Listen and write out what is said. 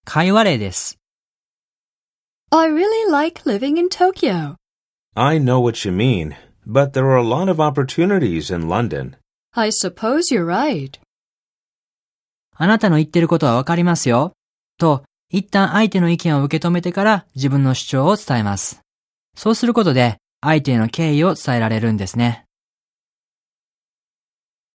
会話例です。 I really like living in Tokyo. I know what you mean, but there are a lot of opportunities in London. I suppose you're right. あなたの言ってることはわかりますよ。と、一旦相手の意見を受け止めてから自分の主張を伝えます。そうすることで相手への敬意を伝えられるんですね。